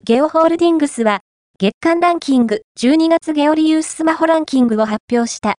ゲオホールディングスは、月間ランキング12月ゲオリユーススマホランキングを発表した。